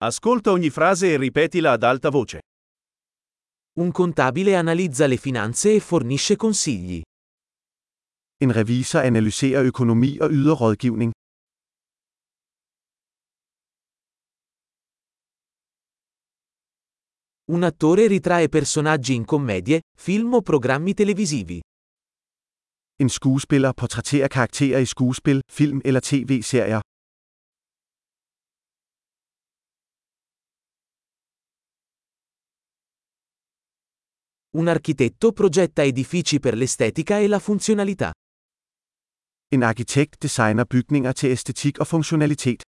Ascolta ogni frase e ripetila ad alta voce. Un contabile analizza le finanze e fornisce consigli. En revisor analyserer økonomi og yder rådgivning. Un attore ritrae personaggi in commedie, film o programmi televisivi. En skuespiller portrætterer karakterer i skuespil, film eller tv-serier. Un architetto progetta edifici per l'estetica e la funzionalità. En arkitekt designer bygninger til æstetik og funktionalitet.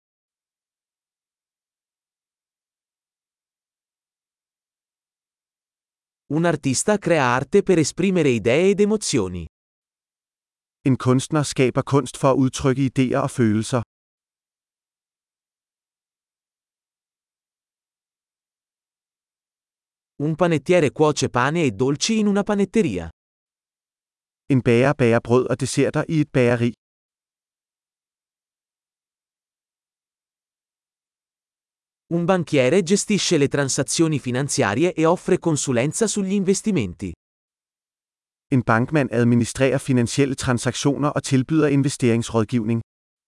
Un artista crea arte per esprimere idee ed emozioni. En kunstner skaber kunst for at udtrykke idéer og følelser. Un panettiere cuoce pane e dolci in una panetteria. En bager bager brød og desserter i et bageri. Un banchiere gestisce le transazioni finanziarie e offre consulenza sugli investimenti. En bankmand administrerer finansielle transaktioner og tilbyder investeringsrådgivning.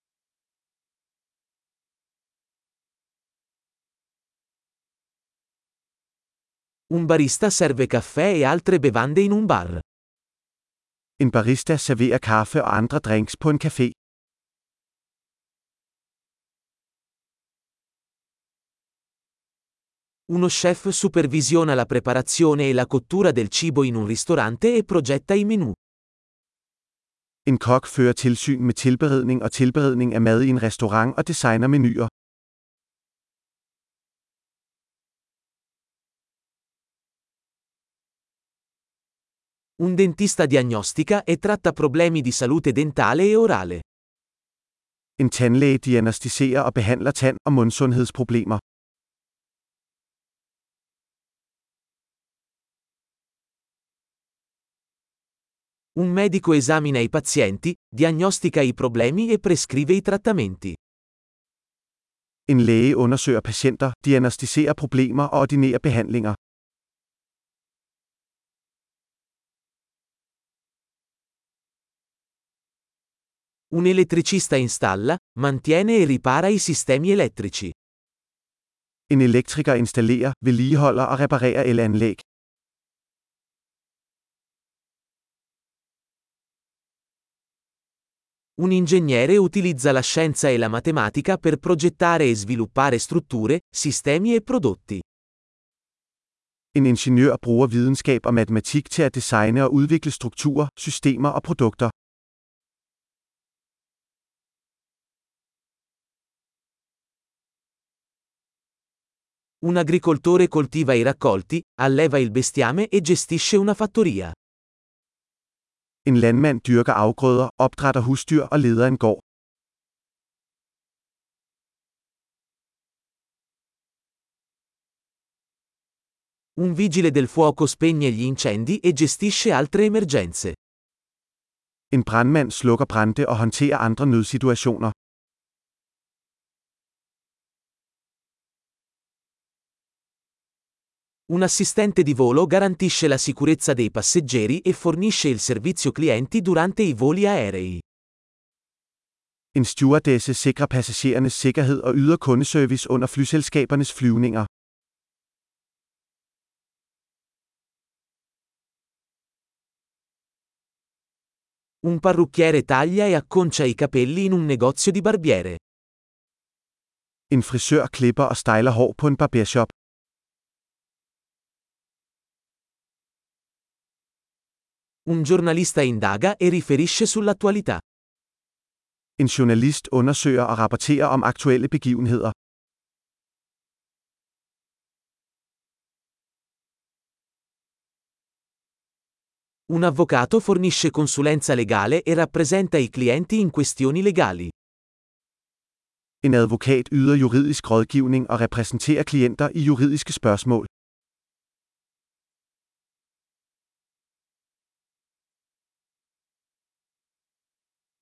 Un barista serve caffè e altre bevande in un bar. En barista serverer kaffe og andre drinks på en café. Uno chef supervisiona la preparazione e la cottura del cibo in un ristorante e progetta i menù. En kok fører tilsyn med tilberedning og tilberedning af mad i en restaurant og designer menuer. Un dentista diagnostica e tratta problemi di salute dentale e orale. En tandlæge diagnosticerer og behandler tand- og mundsundhedsproblemer. Un medico esamina i pazienti, diagnostica i problemi e prescrive i trattamenti. En læge undersøger patienter, diagnosticerer problemer og ordinerer behandlinger. Un elettricista installa, mantiene e ripara i sistemi elettrici. En elektriker installerer, vedligeholder og reparerer elanlæg. Un ingegnere utilizza la scienza e la matematica per progettare e sviluppare strutture, sistemi e prodotti. En ingeniør bruger videnskab og matematik til at designe og udvikle strukturer, systemer og produkter. Un agricoltore coltiva i raccolti, alleva il bestiame e gestisce una fattoria. En landmand dyrker afgrøder, opdrætter husdyr og leder en gård. Un vigile del fuoco spegne gli incendi e gestisce altre emergenze. En brandmand slukker brande og håndterer andre nødsituationer. Un assistente di volo garantisce la sicurezza dei passeggeri e fornisce il servizio clienti durante i voli aerei. En stewardesse sikrer passagerernes sikkerhed og yder kundeservice under flyselskabernes flyvninger. Un parrucchiere taglia e acconcia i capelli in un negozio di barbiere. En frisør klipper og styler hår på en barbershop. Un giornalista indaga e riferisce sull'attualità. En journalist undersøger og rapporterer om aktuelle begivenheder. Un avvocato fornisce consulenza legale e rappresenta i clienti in questioni legali. En advokat yder juridisk rådgivning og repræsenterer klienter i juridiske spørgsmål.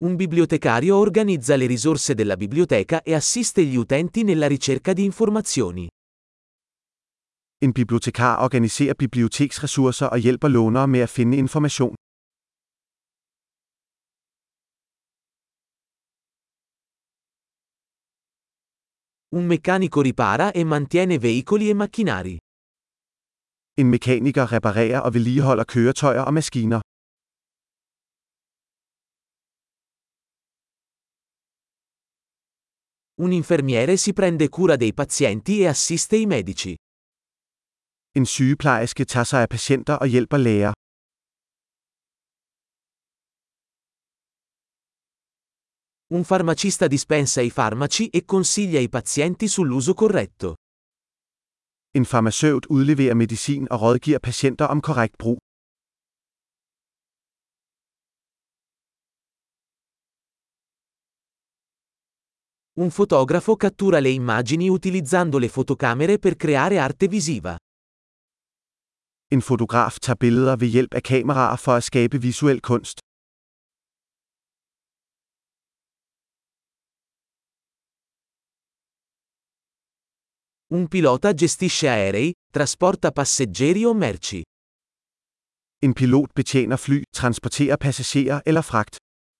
Un bibliotecario organizza le risorse della biblioteca e assiste gli utenti nella ricerca di informazioni. En bibliotekar organiserer biblioteksressourcer og hjælper lånere med at finde information. Un meccanico ripara e mantiene veicoli e macchinari. En mekaniker reparerer og vedligeholder køretøjer og maskiner. Un infermiere si prende cura dei pazienti e assiste i medici. En sygeplejerske tager sig af patienter og hjælper læger. Un farmacista dispensa i farmaci e consiglia i pazienti sull'uso corretto. En farmaceut udleverer medicin og rådgiver patienter om korrekt brug. Un fotografo cattura le immagini utilizzando le fotocamere per creare arte visiva. En fotograf tager billeder ved hjælp af kameraer for at skabe visuel kunst. Un pilota gestisce aerei, trasporta passeggeri o merci. En pilot betjener fly, transporterer passagerer eller fragt.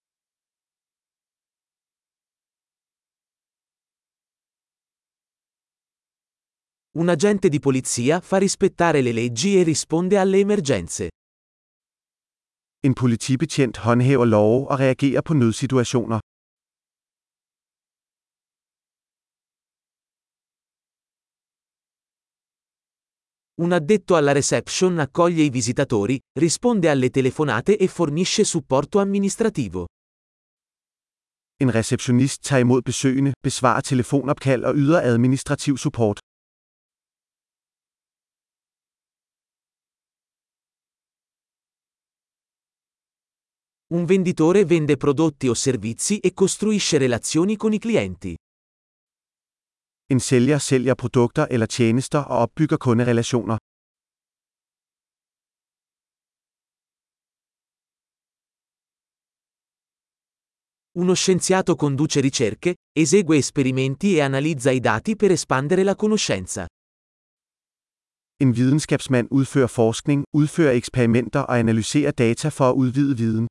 Un agente di polizia fa rispettare le leggi e risponde alle emergenze. En politibetjent håndhæver love og reagerer på nødsituationer. Un addetto alla reception accoglie i visitatori, risponde alle telefonate e fornisce supporto amministrativo. En receptionist tager imod besøgende, besvarer telefonopkald og yder administrativ support. Un venditore vende prodotti o servizi e costruisce relazioni con i clienti. En sælger sælger produkter eller tjenester og opbygger kunderelationer. Uno scienziato conduce ricerche, esegue esperimenti e analizza i dati per espandere la conoscenza. En videnskabsmand udfører forskning, udfører eksperimenter og analyserer data for at udvide viden.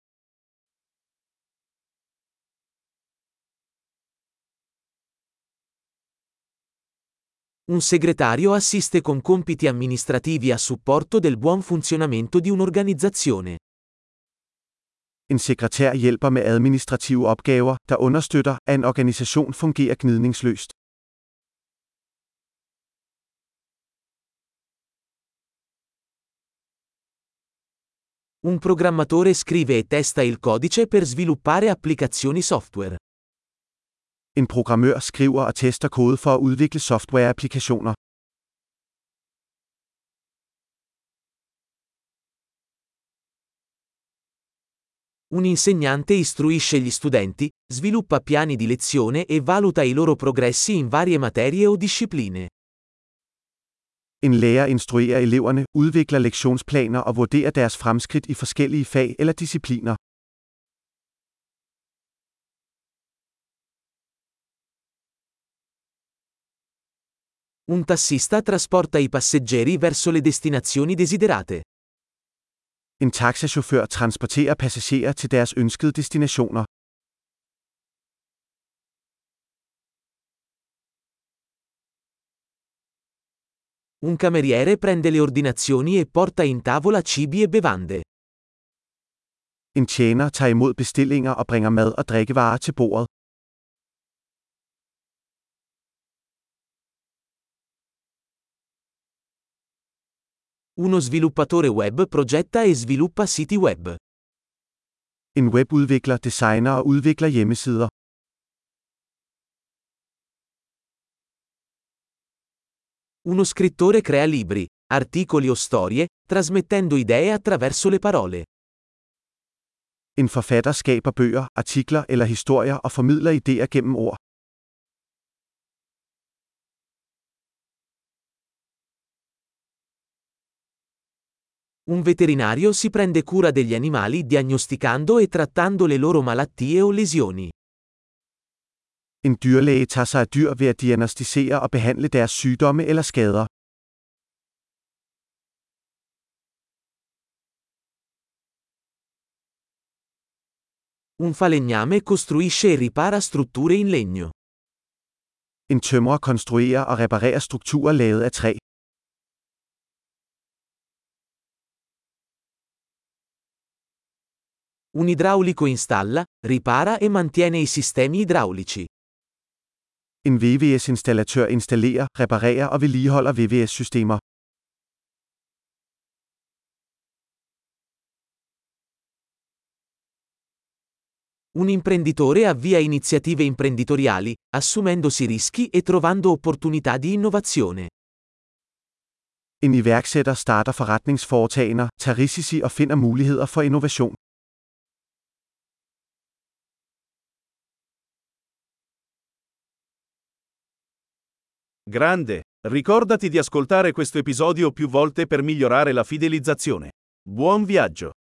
Un segretario assiste con compiti amministrativi a supporto del buon funzionamento di un'organizzazione. En sekretær hjælper med administrative opgaver, der understøtter, at en organisation fungerer gnidningsløst. Un programmatore scrive e testa il codice per sviluppare applicazioni software. En programmør skriver og tester kode for at udvikle softwareapplikationer. Un insegnante istruisce gli studenti, sviluppa piani di lezione e valuta i loro progressi in varie materie o discipline. En lærer instruerer eleverne, udvikler lektionsplaner og vurderer deres fremskridt i forskellige fag eller discipliner. Un tassista trasporta i passeggeri verso le destinazioni desiderate. En taxachauffør transporterer passagerer til deres ønskede destinationer. Un cameriere prende le ordinazioni e porta in tavola cibi e bevande. En tjener tager imod bestillinger og bringer mad og drikkevarer til bordet. Uno sviluppatore web progetta e sviluppa siti web. En webudvikler designer og udvikler hjemmesider. Uno scrittore crea libri, articoli o storie, trasmettendo idee attraverso le parole. En forfatter skaber bøger, artikler eller historier og formidler idéer gennem ord. Un veterinario si prende cura degli animali diagnosticando e trattando le loro malattie o lesioni. En dyrlæge tager sig af dyr ved at diagnosticere og behandle deres sygdomme eller skader. Un falegname costruisce e ripara strutture in legno. En tømrer konstruerer og reparerer strukturer lavet af træ. Un idraulico installa, ripara e mantiene i sistemi idraulici. En VVS-installatør installerer, reparerer og vedligeholder VVS-systemer. Un imprenditore avvia iniziative imprenditoriali, assumendosi rischi e trovando opportunità di innovazione. En iværksætter starter forretningsforetagender, tager risici og finder muligheder for innovation. Grande! Ricordati di ascoltare questo episodio più volte per migliorare la fidelizzazione. Buon viaggio!